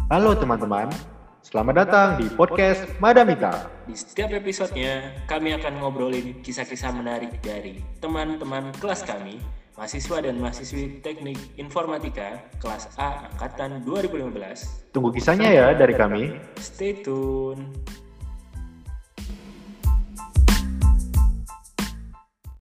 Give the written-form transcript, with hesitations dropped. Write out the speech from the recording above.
Halo teman-teman, selamat datang di podcast Madamita. Di setiap episodenya, kami akan ngobrolin kisah-kisah menarik dari teman-teman kelas kami, mahasiswa dan mahasiswi Teknik Informatika kelas A angkatan 2015. Tunggu kisahnya ya dari kami. Stay tune.